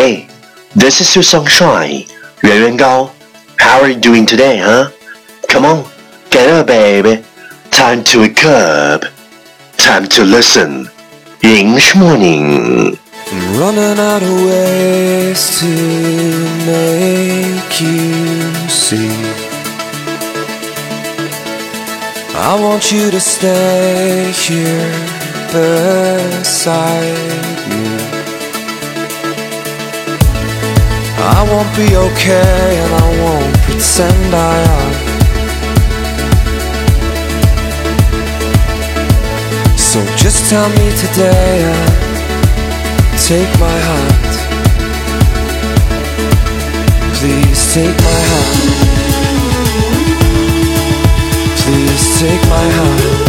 Hey, this is your sunshine, 圆圆高. How are you doing today, huh? Come on, get up, baby. Time to wake up. Time to listen. English morning. I'm running out of ways to make you see. I want you to stay here beside me. I won't be okay and I won't pretend I am. So just tell me today and take my hand. Please take my hand. Please take my hand.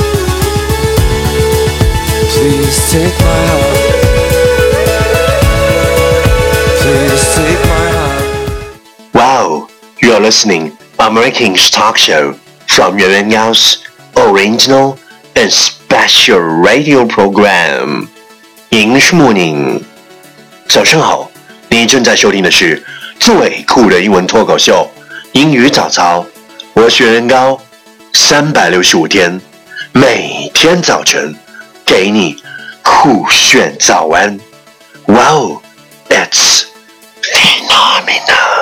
Please take my hand. Please take my hand. Wow, you are listening American English talk show from Yuan Yuan Gao's original and special radio program. English morning. 早上好，你正在收听的是最酷的英文脱口秀英语早操。我是袁元高，365天，每天早晨给你酷炫早安。Wow, it's phenomenal.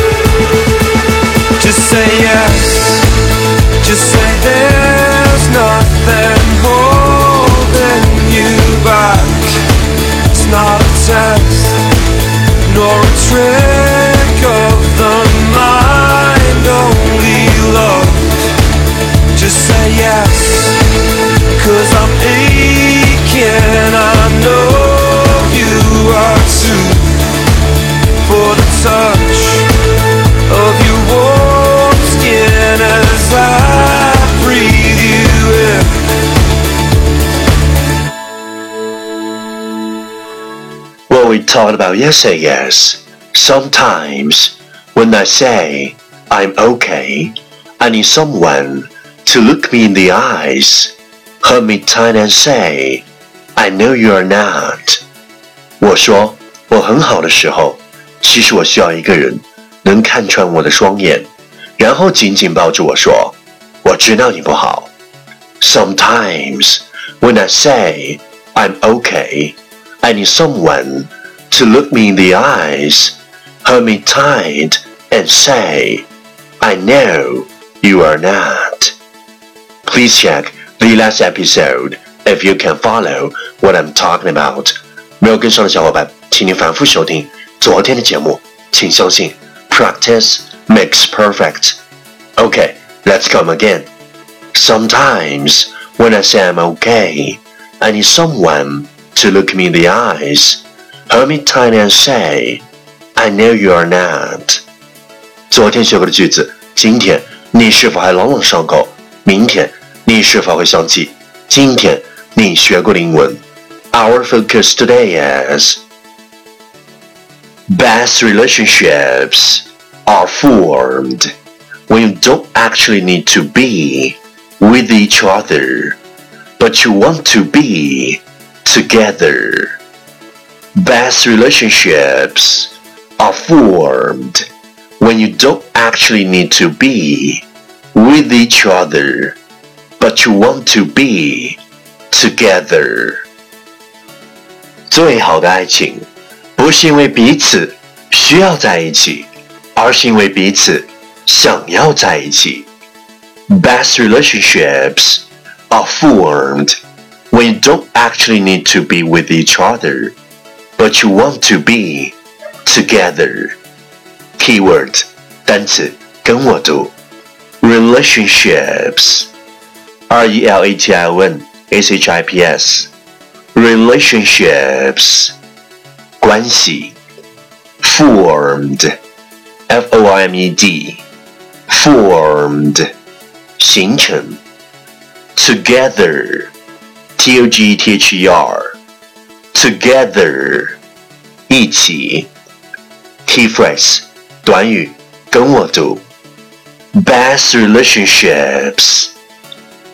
Just say yes. Just say there's nothing holding you back. It's not a test, nor a trick of the mind, only love. Just say yes, 'cause I'm aching, I know you are too. For the touch of your warm skin as I breathe you in. What we talked about yesterday is sometimes when I say I'm okay, I need someone to look me in the eyes, hold me tight and say, I know you are not. 我说我很好的时候，其实我需要一个人能看穿我的双眼，然后紧紧抱住我说，我知道你不好。Sometimes when I say I'm okay, I need someone to look me in the eyes, hold me tight and say, I know you are not. Please check the last episode if you can follow what I'm talking about. 没有跟上的小伙伴，请你反复收听昨天的节目，请相信 practice makes perfect. Okay, let's come again. Sometimes when I say I'm okay, I need someone to look me in the eyes, hold me tight and say, I know you are not. 昨天学过的句子，今天你是否还朗朗上口？明天你是否会想起今天你学过的英文？ Our focus today is best relationships are formed when you don't actually need to be with each other, but you want to be together. Best relationships are formed when you don't actually need to be with each other, but you want to be together. 最好的爱情不是因为彼此需要在一起，而是因为彼此想要在一起。Best relationships are formed when you don't actually need to be with each other, but you want to be together. Keyword 单词跟我读 relationships RELATIONSHIPS relationships 关系 formed FORMED formed 形成 together TOGETHER together 一起 Key phrase 短语跟我读 best relationships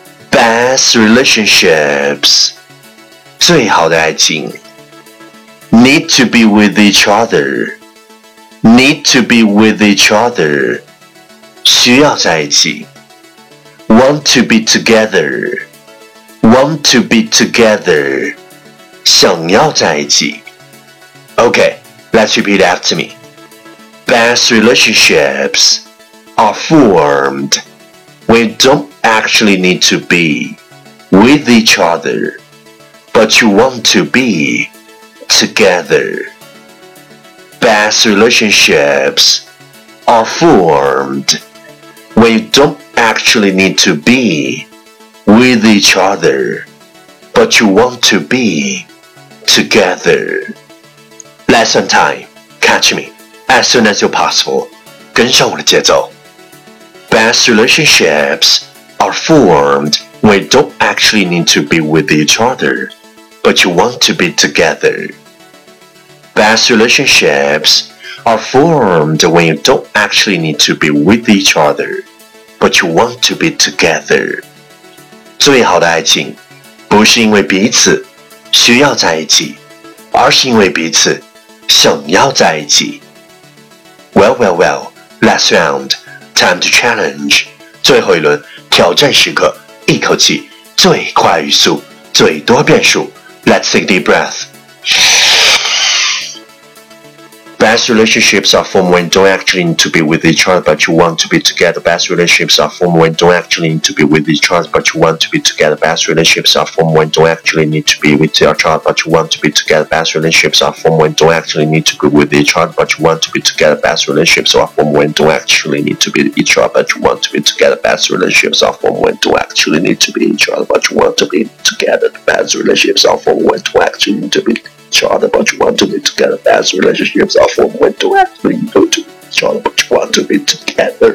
best relationships 最好的爱情 need to be with each other, need to be with each other, 需要在一起。Want to be together, want to be together, 想要在一起。Okay, let's repeat after me. Best relationships are formed when you don't actually need to be with each other, but you want to be together. Best relationships are formed when you don't actually need to be with each other, but you want to be together. Lesson time. Catch me as soon as you're possible. 跟上我的节奏。Best relationships are formed when you don't actually need to be with each other, but you want to be together. Best relationships are formed when you don't actually need to be with each other, but you want to be together. 最好的爱情不是因为彼此需要在一起，而是因为彼此想要在一起。Well, well, well, last round, time to challenge. 最后一轮挑战时刻，一口气最快语速，最多变数。Let's take a deep breath. Best relationships are formed when you don't actually need to be with each other, but you want to be together. Best relationships are formed when you don't actually need to be with each other, but you want to be together. Best relationships are formed when you don't actually need to be with each other, but you want to be together. Best relationships are formed when you don't actually need to be with each other, but you want to be together. Best relationships are formed when you don't actually need to be with each other, but you want to be together. Best relationships are formed when you don't actually need to be each other, but you want to be together. Best relationships are formed when you don't actually need to be each other, but you want to be together. Best relationships are formed when you don't actually need to be each other, but you want to be together.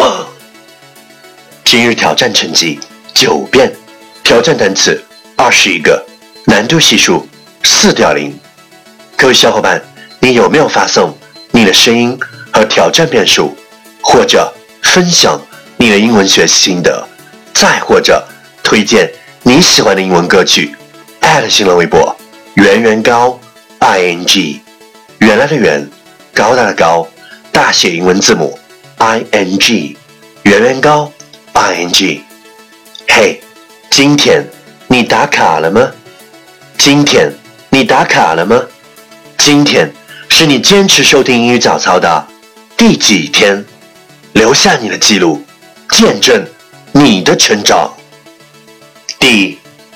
今日挑战成绩9遍，挑战单词21个，难度系数4.0。各位小伙伴，你有没有发送你的声音和挑战遍数，或者分享你的英文学习心得，再或者推荐你喜欢的英文歌曲？新浪微博圆圆高 ing， 原来的圆，高大的高，大写英文字母 ing， 圆圆高 ing。 嘿，今天你打卡了吗？今天你打卡了吗？今天是你坚持收听英语早操的第几天？留下你的记录，见证你的成长。第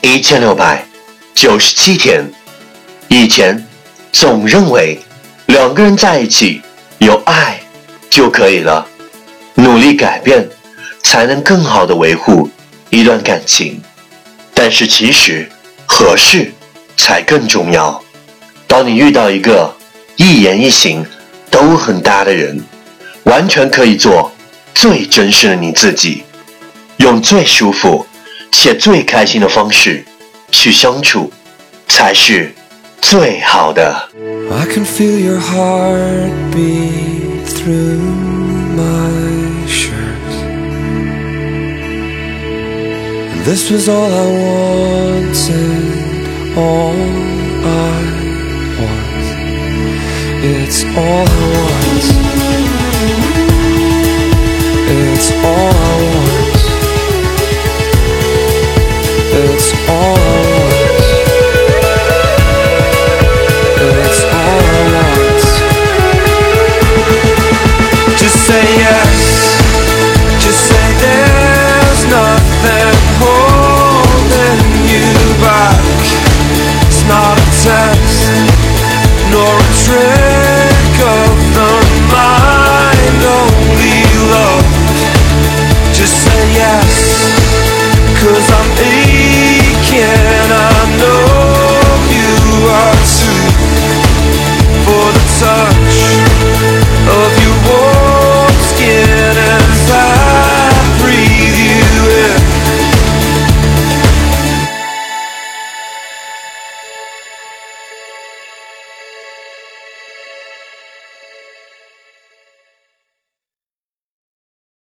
1697天。以前总认为两个人在一起有爱就可以了，努力改变才能更好地维护一段感情。但是其实合适才更重要。当你遇到一个一言一行都很搭的人，完全可以做最真实的你自己，用最舒服且最开心的方式去相处，才是最好的。 I can feel your heartbeat through my shirt, and this was all I wanted, all I want. It's all I want. It's all I want.